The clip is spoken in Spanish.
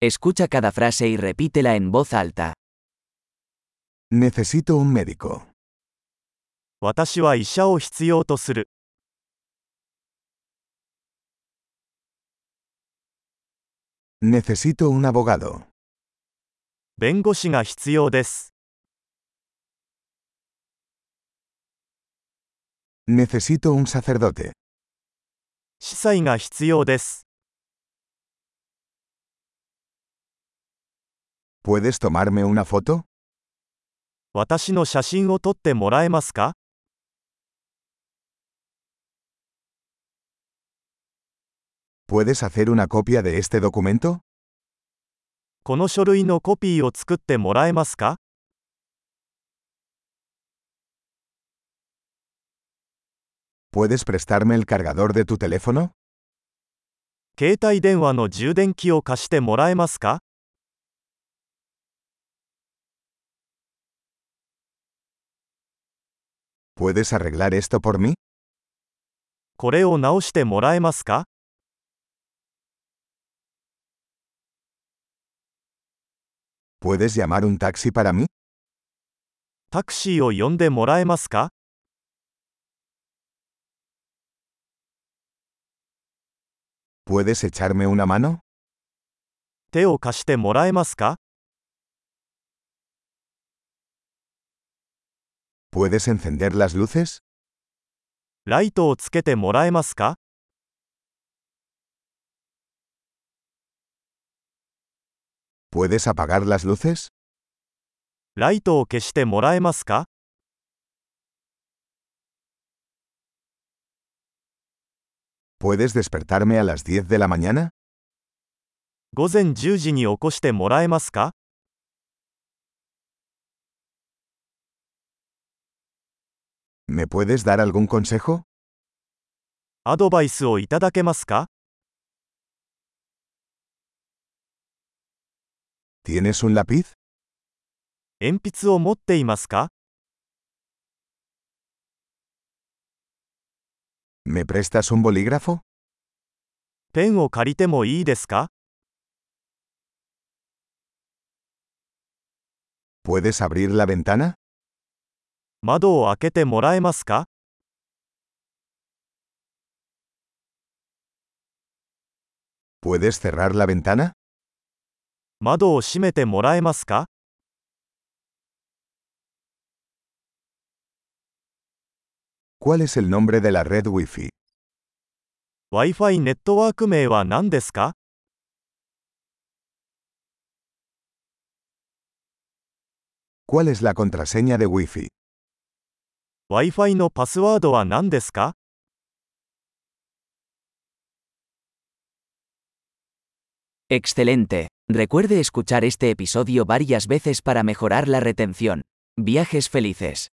Escucha cada frase y repítela en voz alta. Necesito un médico. 私は医者を必要とする。 Necesito un abogado. 弁護士が必要です。 Necesito un sacerdote. 司祭が必要です。 ¿Puedes tomarme una foto? 私の写真を撮ってもらえますか？ ¿Puedes hacer una copia de este documento? この書類のコピーを作ってもらえますか？ ¿Puedes prestarme el cargador de tu teléfono? 携帯電話の充電器を貸してもらえますか？ ¿Puedes arreglar esto por mí? これを直してもらえますか？ ¿Puedes llamar un taxi para mí? タクシーを呼んでもらえますか？ ¿Puedes echarme una mano? 手を貸してもらえますか？ ¿Puedes encender las luces? ライトをつけてもらえますか？ ¿Puedes apagar las luces? ライトを消してもらえますか？ ¿Puedes despertarme a las 10 de la mañana? 午前10時に起こしてもらえますか？ ¿Me puedes dar algún consejo? アドバイスをいただけますか？ ¿Tienes un lápiz? 鉛筆を持っていますか？ ¿Me prestas un bolígrafo? ペンを借りてもいいですか？ ¿Puedes abrir la ventana? 窓を開けてもらえますか？ ¿Puedes cerrar la ventana? 窓を閉めてもらえますか？ ¿Cuál es el nombre de la red Wi-Fi? Wi-Fi ネットワーク名は何ですか？ ¿Cuál es la contraseña de Wi-Fi? Wi-Fi のパスワードは何ですか？ Excelente. Recuerde escuchar este episodio varias veces para mejorar la retención. Viajes felices.